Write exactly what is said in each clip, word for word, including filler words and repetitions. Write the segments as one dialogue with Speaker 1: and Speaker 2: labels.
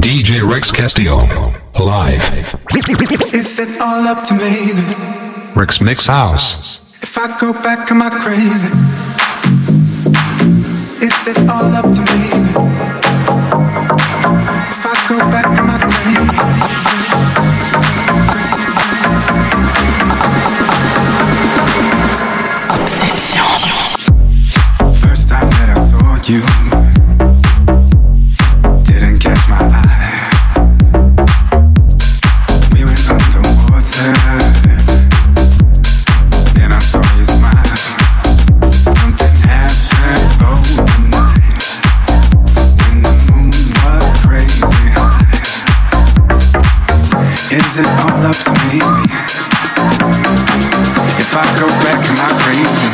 Speaker 1: D J Rex Castillo, live.
Speaker 2: Is it all up to me?
Speaker 1: Rex Mix House.
Speaker 2: If I go back, am I crazy? Is it all up to me? If I go back, am I crazy?
Speaker 3: Obsession.
Speaker 2: First time that I saw you, didn't catch my eye. We went underwater, then I saw you smile. Something happened overnight when the moon was crazy high. Is it all up to me? If I go back, am I crazy?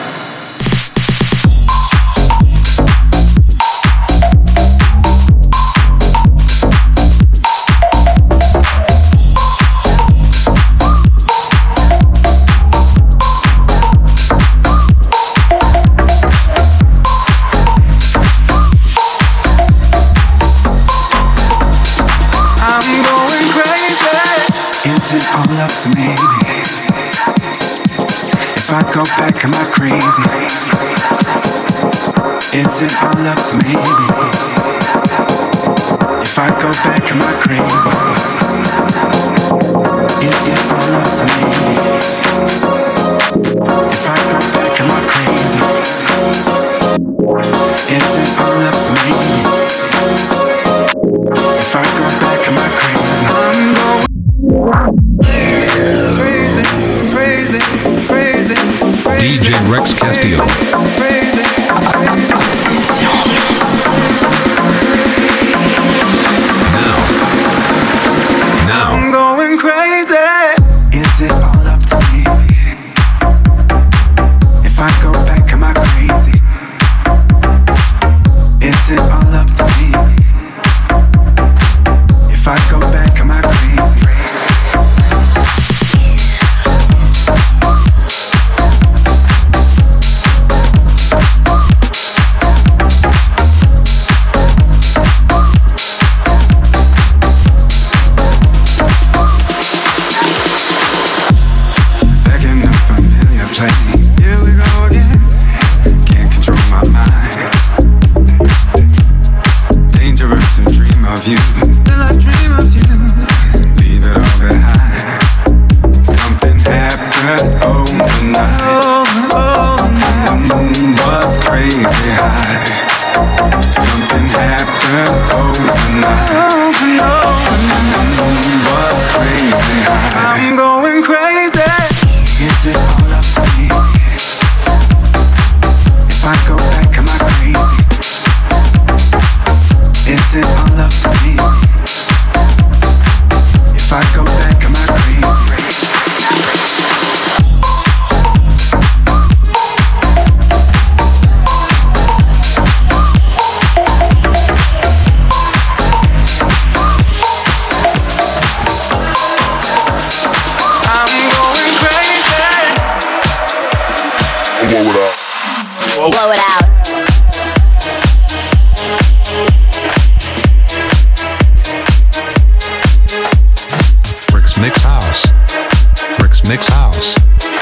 Speaker 2: Is it all up to me? If I go back, am I crazy? Is it all up to me? If I go back, am I crazy? Is it all up to me? If I go back, am I crazy? Is it all up to me? If I go back, am I crazy? I'm going crazy, crazy, crazy, crazy.
Speaker 1: D J Rex Castillo.
Speaker 2: Crazy, crazy.
Speaker 3: Obsession.
Speaker 1: Now. Now.
Speaker 2: I'm going crazy. Is it all up to me? If I go back, am I crazy? Is it all up to me? If I go back, am I crazy? Back in a familiar place. Here we go again. Can't control my mind. Dangerous to dream of you. Still I dream of you. Leave it all behind. Something happened overnight. The moon was crazy high. Something happened overnight. The moon was crazy high. I'm going crazy. Is it all up to me? If I go back, am I crazy? Is it all up to me? If I go back, am I crazy? I'm going crazy.
Speaker 4: Blow it out.
Speaker 3: Blow it out.
Speaker 1: Rex Mix House. Rex Mix House.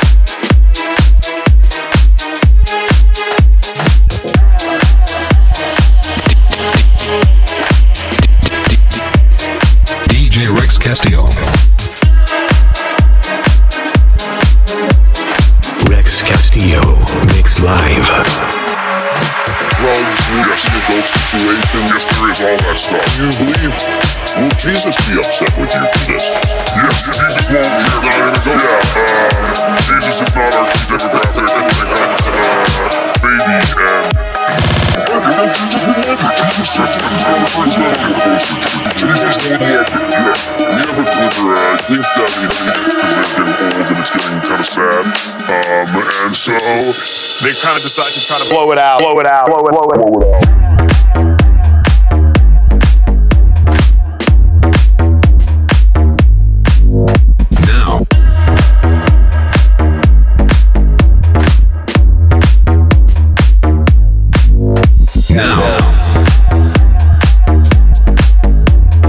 Speaker 1: D J Rex Castillo.
Speaker 5: Rex Castillo mix live.
Speaker 4: Drugs, yes, the adult situation, yes, there is all that stuff. You believe, will Jesus be upset with you for this? Yes, Jesus won't hear that. Yeah, uh, Jesus is not our key demographic. Uh, baby, and... Jesus would love you. Jesus said to his own friends, not on the poster. Jesus would love you, yeah. We have a glimmer, I think that we need it because they're getting old and it's getting kind of sad. Um, and so...
Speaker 6: They kind of decide to try to blow it out, blow it out, blow it, blow it,
Speaker 4: blow it out.
Speaker 1: Now.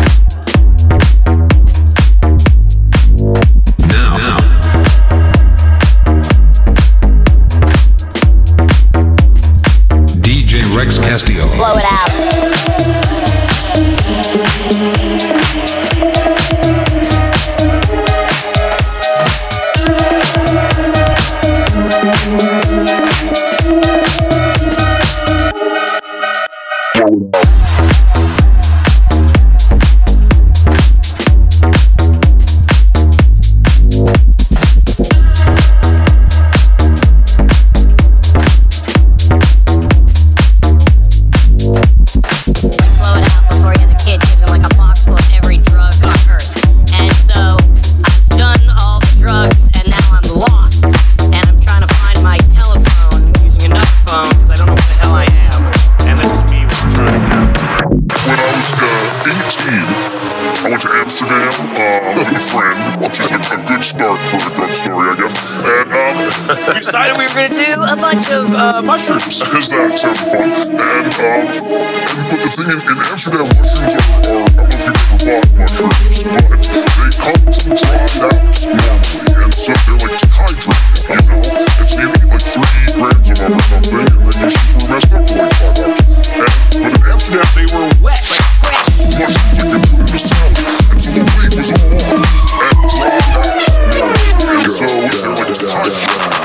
Speaker 4: I went to Amsterdam um, with a friend, which is a, a good start for a drug story, I guess. And um,
Speaker 7: We decided we were going to do a bunch of uh, mushrooms.
Speaker 4: because that sounded fun. And, um, and but the thing in, in Amsterdam, mushrooms are, are, I don't know if you've ever bought mushrooms, but they come from dried out normally, and so they're like dehydrated, you know? And so you eat like three grams of them or something, and then you're super messed up for like five hours. And, but in Amsterdam, they were
Speaker 7: Wet, like fresh.
Speaker 4: mushrooms like they put in the salad, and so the weight was all off and dried out normally, and so they're like dehydrated.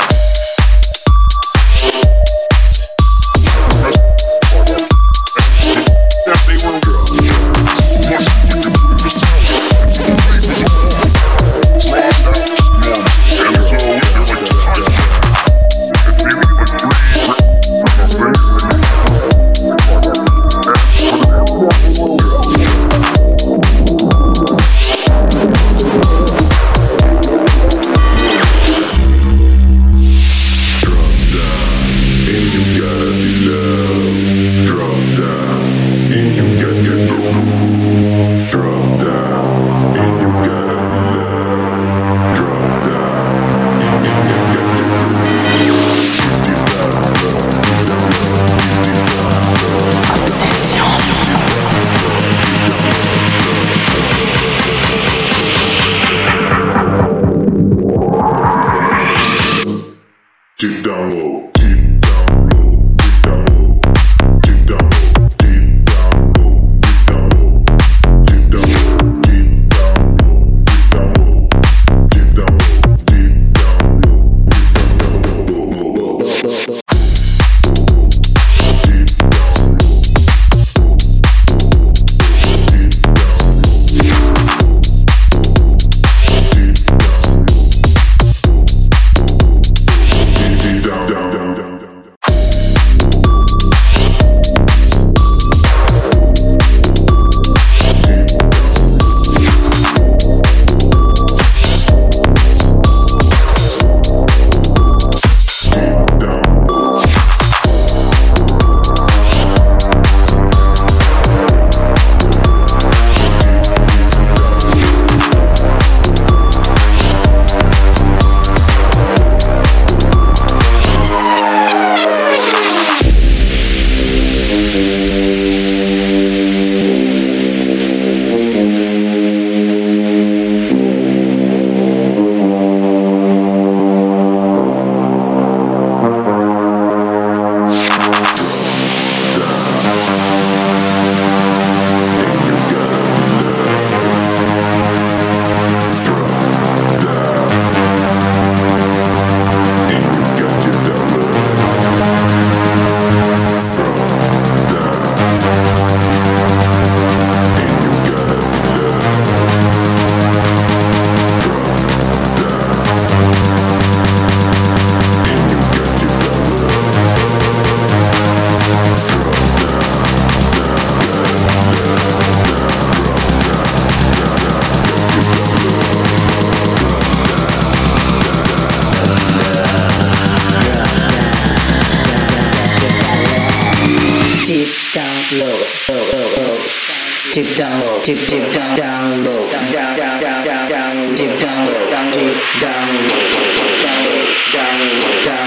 Speaker 8: Deep down low, deep deep down down low, down down down down down down, deep down low, down deep down low, down down down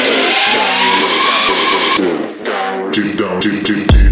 Speaker 8: down down, deep down deep deep deep.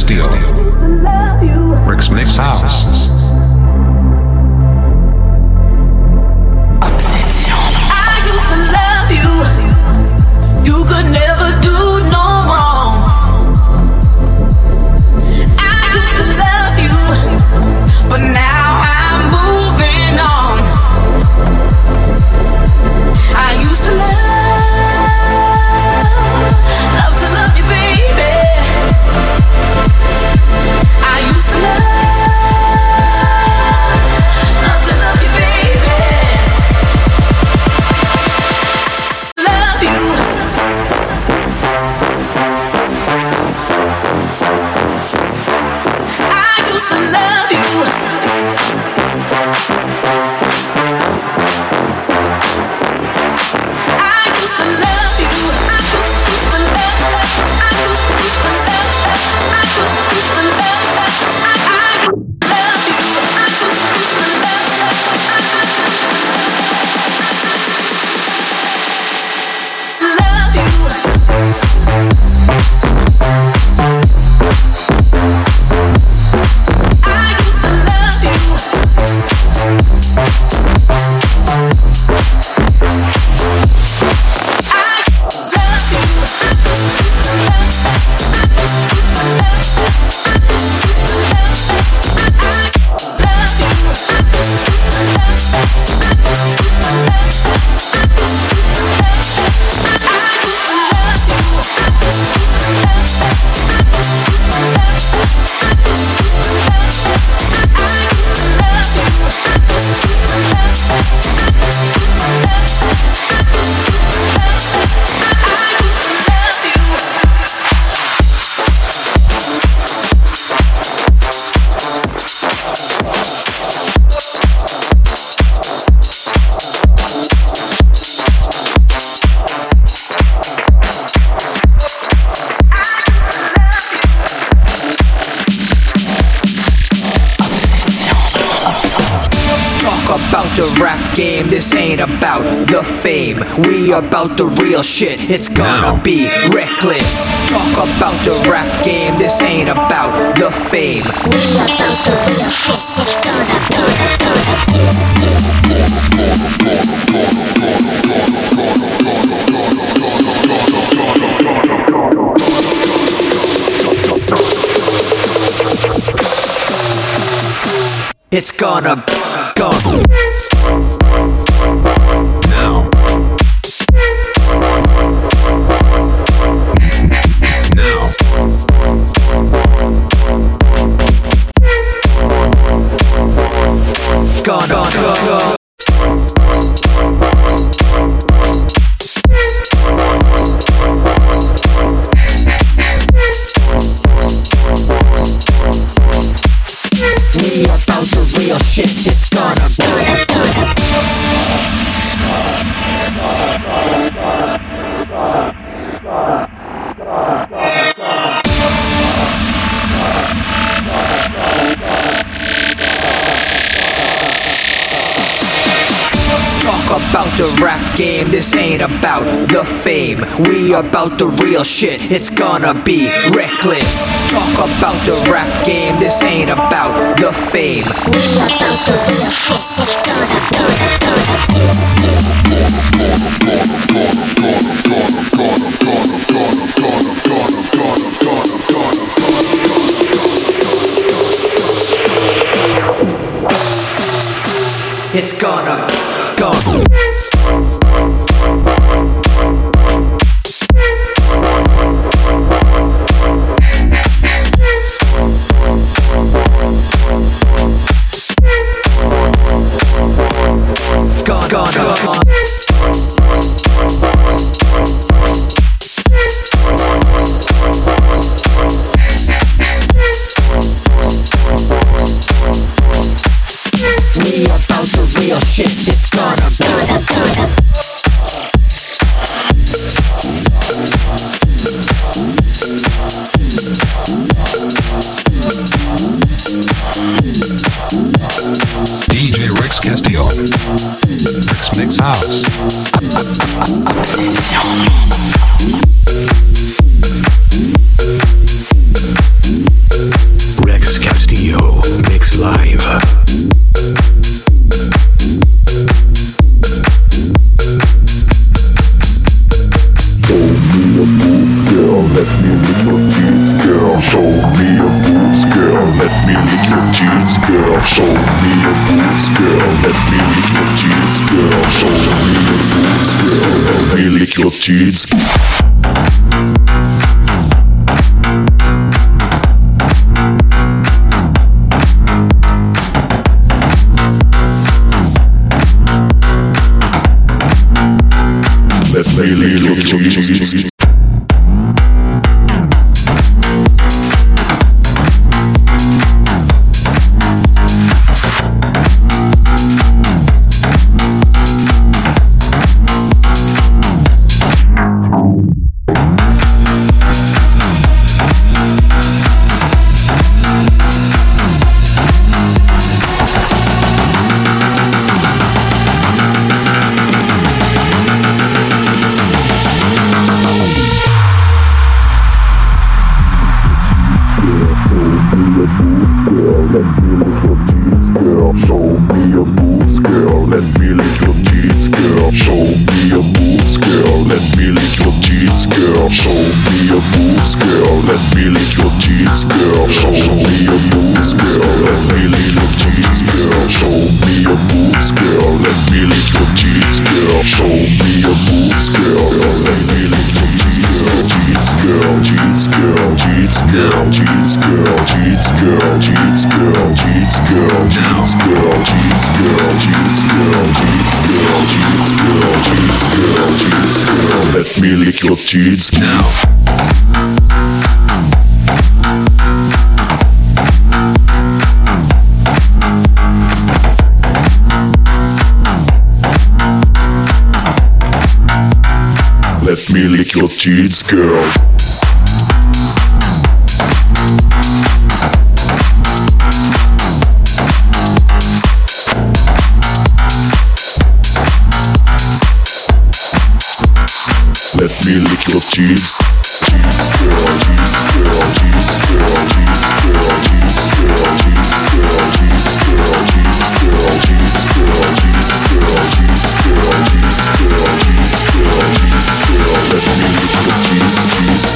Speaker 1: Castillo. Rick's Mix House.
Speaker 3: Obsession.
Speaker 7: I used to love you. You could never do no wrong. I used to love you, but now I'm moving on. I used to love, love to love you, baby. I used to love, love to love you, baby. Love you. I used to love you. I used to love you. I used to love. I used to love. I used to love. I I love you. I used to love
Speaker 9: about the rap game, this ain't about the fame. We about the real shit, it's gonna
Speaker 1: Now.
Speaker 9: be reckless. Talk about the rap game, this ain't about the fame. It's gonna go.
Speaker 1: Now. Now.
Speaker 9: Gonna go. We about the real shit, it's gonna go. Talk about the rap game, this ain't about the fame. We about the real shit, it's gonna be reckless. Talk about the rap game, this ain't about the fame. It's gonna go. Gonna, gonna, we about the real shit, it's gonna go.
Speaker 1: D J Rex Castillo. Rick's Mix House.
Speaker 3: Obsession.
Speaker 10: me your boobs, girl. Let me lick your cheeks, girl. Show me your boobs, girl. Let me lick your cheeks. Let me lick your cheeks. Let me lick your cheeks now. Let me lick your cheeks, girl. Let me lick your cheeks. Cheeks, girl, cheeks, girl, cheeks, girl, cheeks, girl, cheeks, girl, cheeks, girl, cheeks, girl, cheeks, girl, cheeks, girl, cheeks, girl, cheeks, girl, cheeks, girl, cheeks, girl, cheeks, girl. Let me lick your cheeks, cheeks.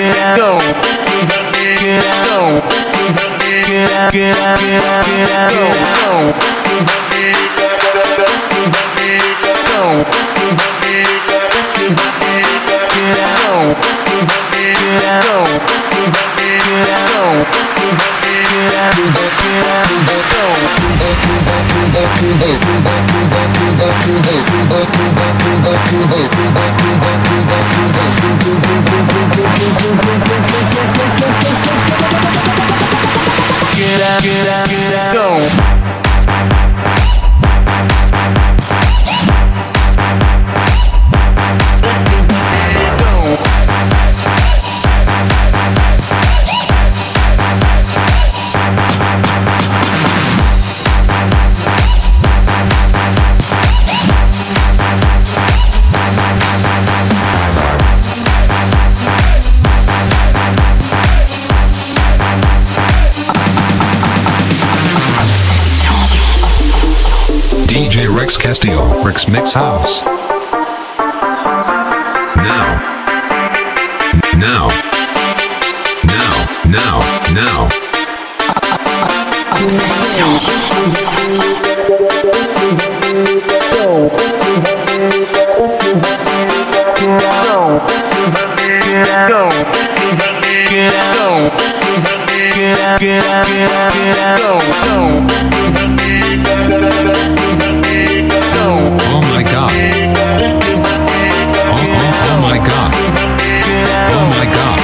Speaker 1: D J Rex Castillo, Rex Mix House. Now. Now. Now. Now. Now. Oh my god. Oh, oh, oh my god. Oh my god.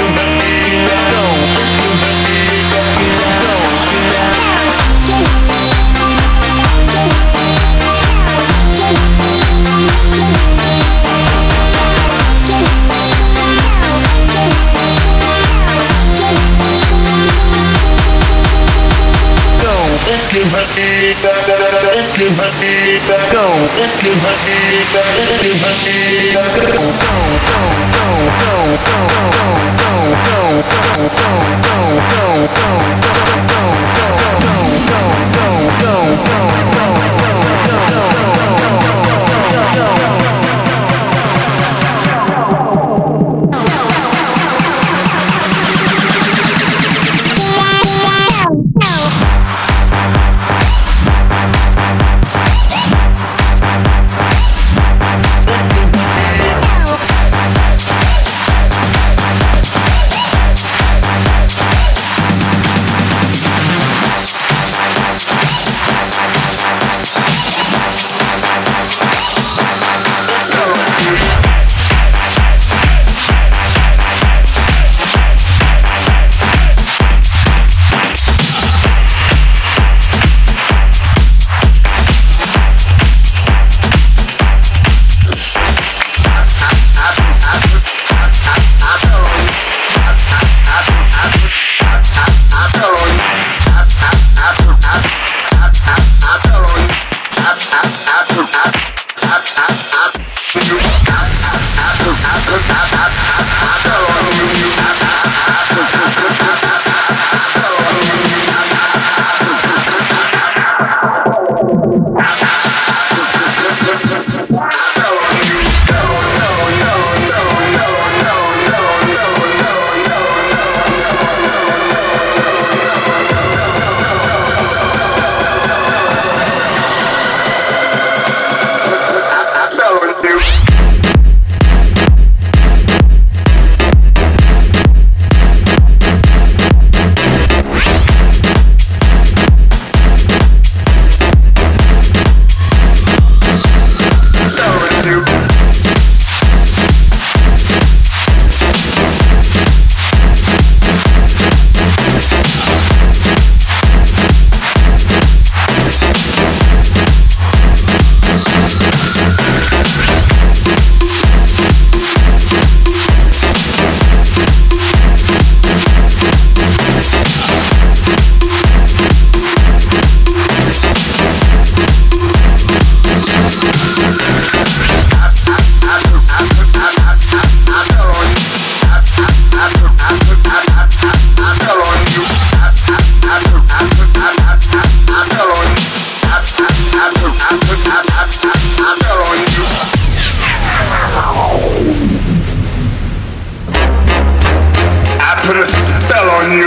Speaker 4: on you.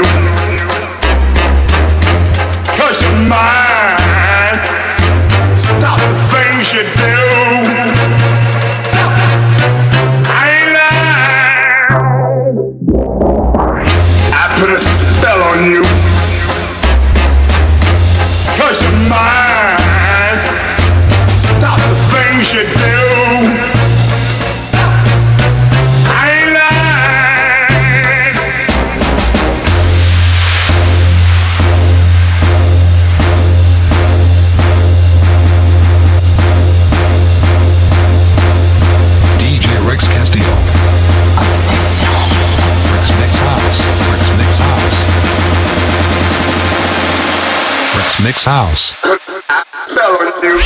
Speaker 4: Cause you're mine. Stop the things you do. I ain't lying. I put a spell on you. Cause you're mine. Stop the things you do.
Speaker 1: Mix House.
Speaker 4: Spell on you.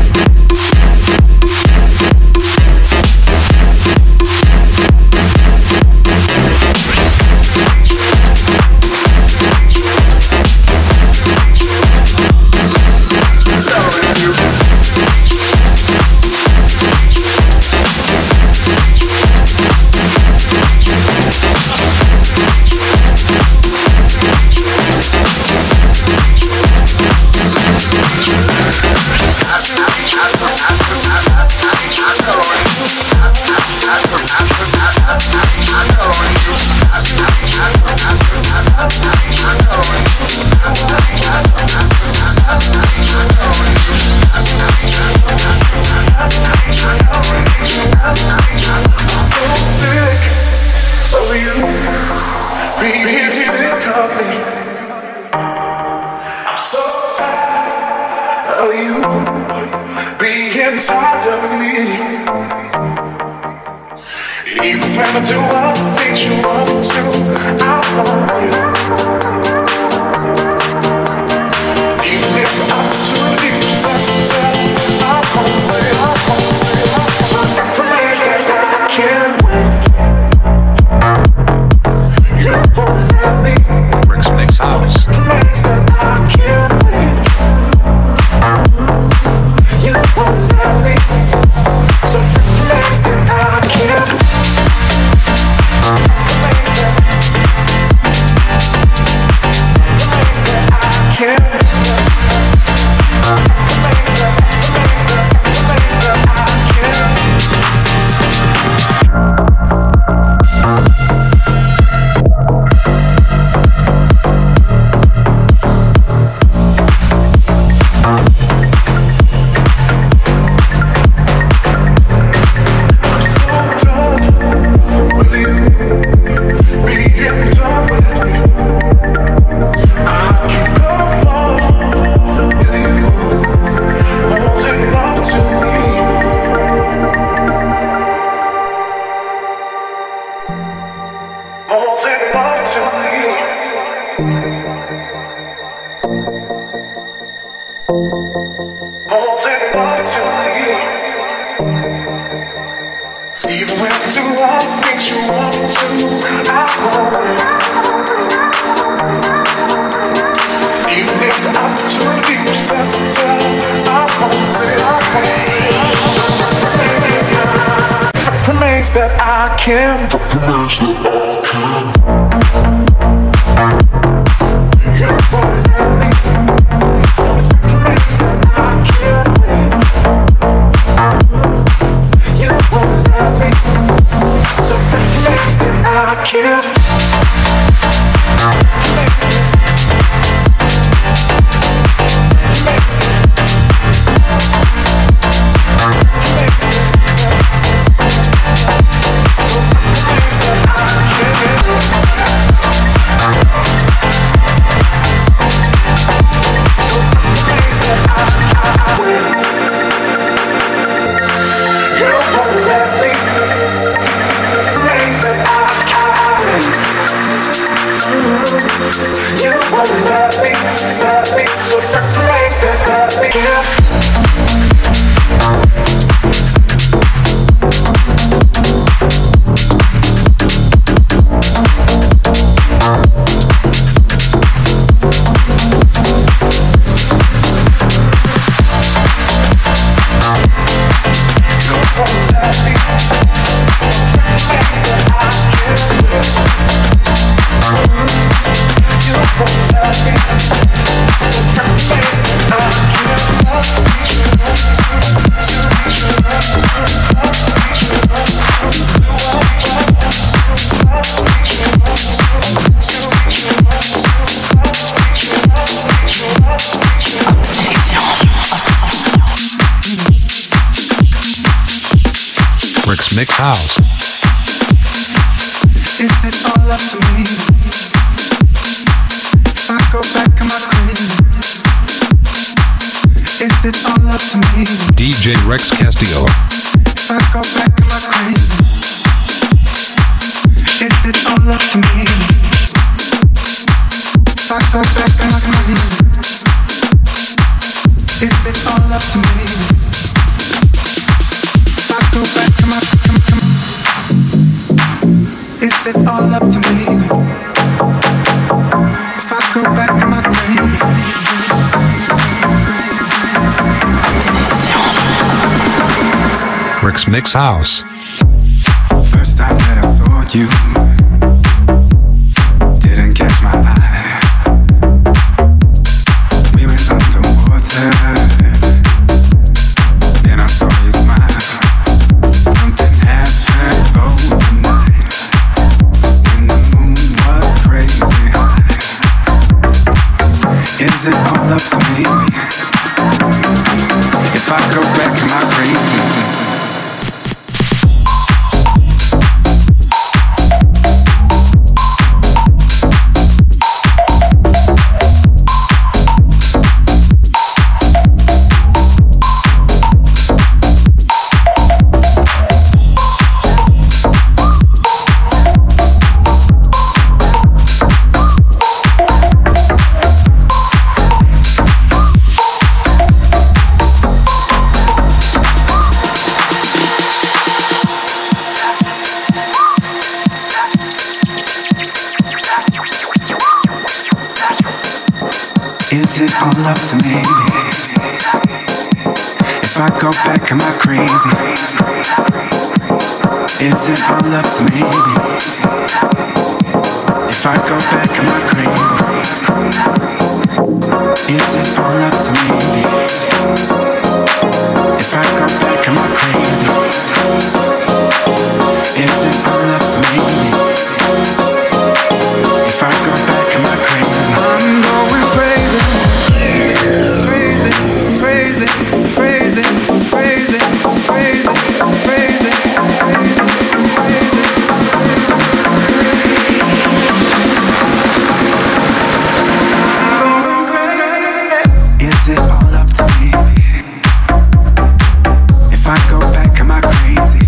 Speaker 2: That I can. The promise that I can. You won't let me. The promise that I can win. You won't let me. So the promise that I can. Promise that. Promise that. Promise that. So the promise that I can.
Speaker 1: Rick's Mix House.
Speaker 2: Is it all up to me? If I go back to my crib, is it all up to me?
Speaker 1: D J Rex Castillo.
Speaker 2: If I go back to my crib, is it all up to me? If I go back to my crib, is it all up to me? If I go back to my crib, is it all up to me? If I go back to my crib.
Speaker 1: Rick's Mix House.
Speaker 2: First time that I saw you, didn't catch my eye. We went underwater, then I saw you smile. Something happened overnight when the moon was crazy high. Is it all up to me? If I go back in my crazy. Is it all up to me? If I go back, am I crazy? Is it all up to me? If I go back, am I crazy? Is it all up to me? If I go back, am I crazy? Is it all up to me? If I go back, am I crazy? I'm going crazy. Crazy, crazy, crazy, crazy, crazy, crazy, crazy, crazy. Is it all up to me? If I go back, am I crazy?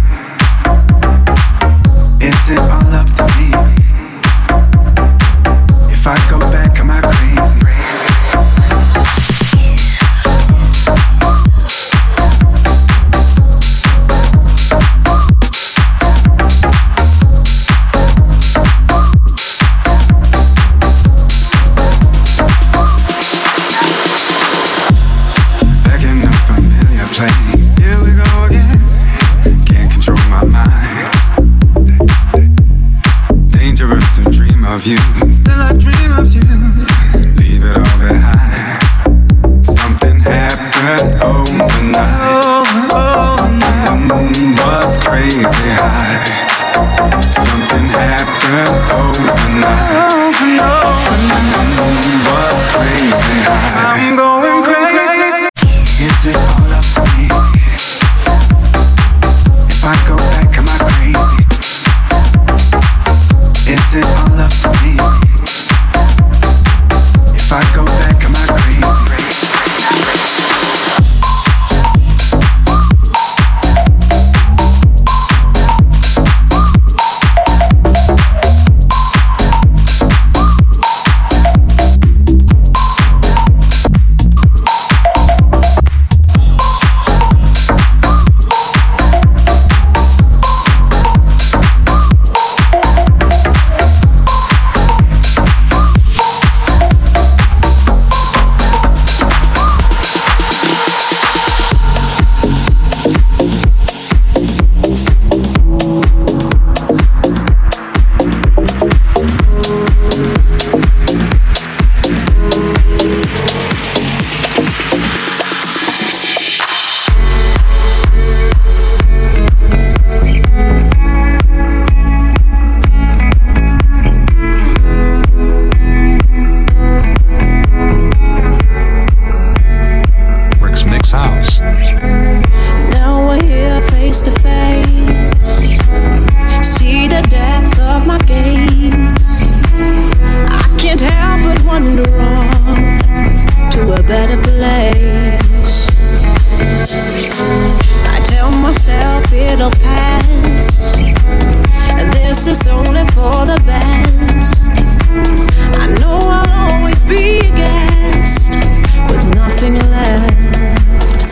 Speaker 2: Is it all up to me? If I go back, am I crazy? Back in a familiar place. Here we go again. Can't control my mind. Dangerous to dream of you. Still I dream of you. Leave it all behind. Something happened overnight. When the moon was crazy high. Something happened overnight. When the moon was crazy high. I'm going crazy. Is it all up to me? If I go back, am I crazy? Is it all up to me? If I go back, am I crazy?
Speaker 7: it'll pass. And this is only for the best. I know I'll always be a guest with nothing left.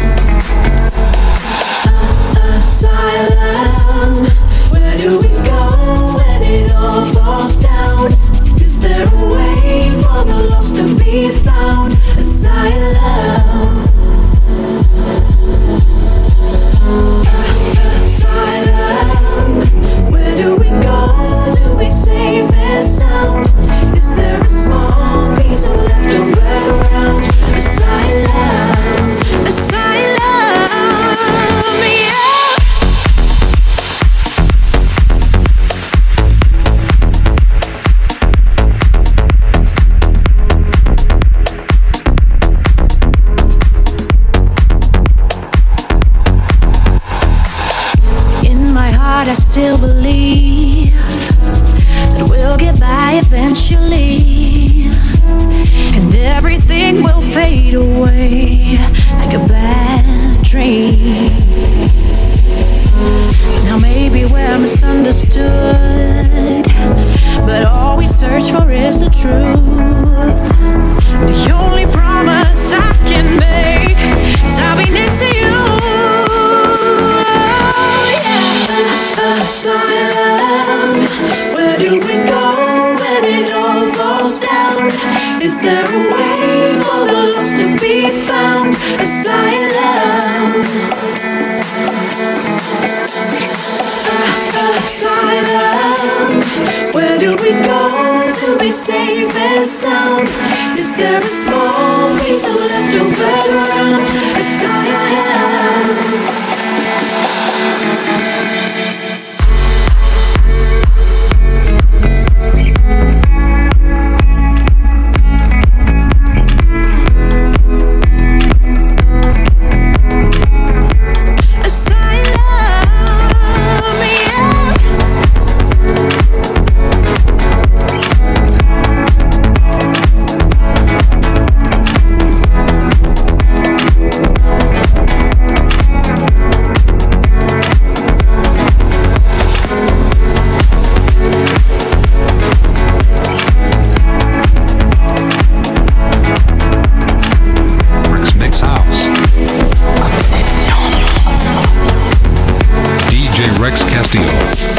Speaker 7: Asylum, where do we go when it all falls down? Is there a way for the lost to be found? Asylum. Asylum, where do we go to be safe and sound? Is there a small piece of leftover ground? Asylum, asylum, yeah. I still believe that we'll get by eventually, and everything will fade away like a bad dream. Now maybe we're misunderstood, but all we search for is the truth. The only promise I can make is I'll be next to you. Asylum, where do we go when it all falls down? Is there a way for the lost to be found? Asylum, asylum, where do we go to be safe and sound? Is there a small piece of leftover ground? Asylum.
Speaker 1: Rex Castillo.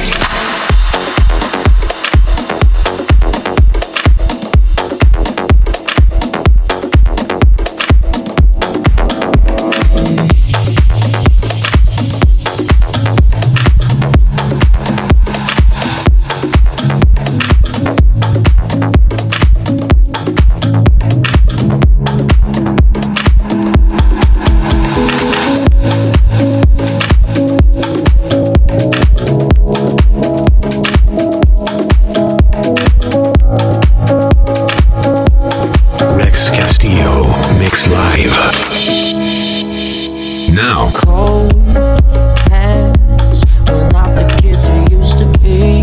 Speaker 1: Now.
Speaker 11: Cold hands, we're not the kids we used to be,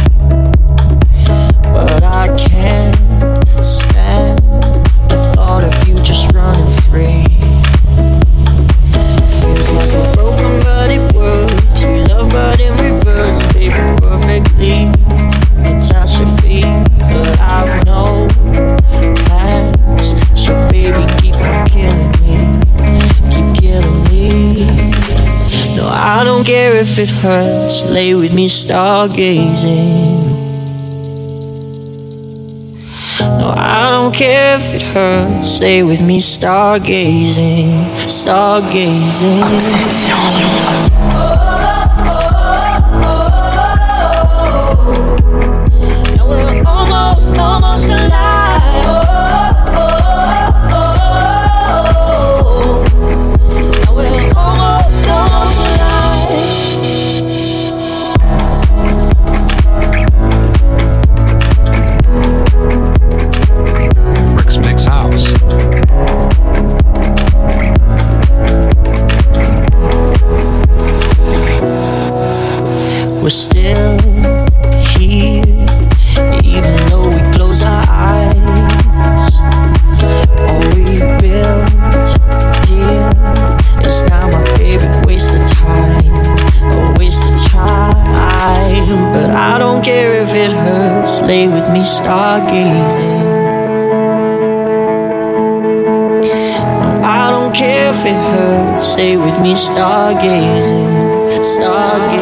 Speaker 11: but I can't stand the thought of you just running free. Feels like we're broken but it works, we love but in reverse, baby, perfectly catastrophe, but I've no plans, so baby keep on killing me. No, I don't care if it hurts. Lay with me stargazing. No, I don't care if it hurts. Stay with me stargazing. Stargazing. Obsession. Now we're almost, almost alive.
Speaker 1: House.
Speaker 11: stargazing. I don't care if it hurts, stay with me stargazing, stargazing.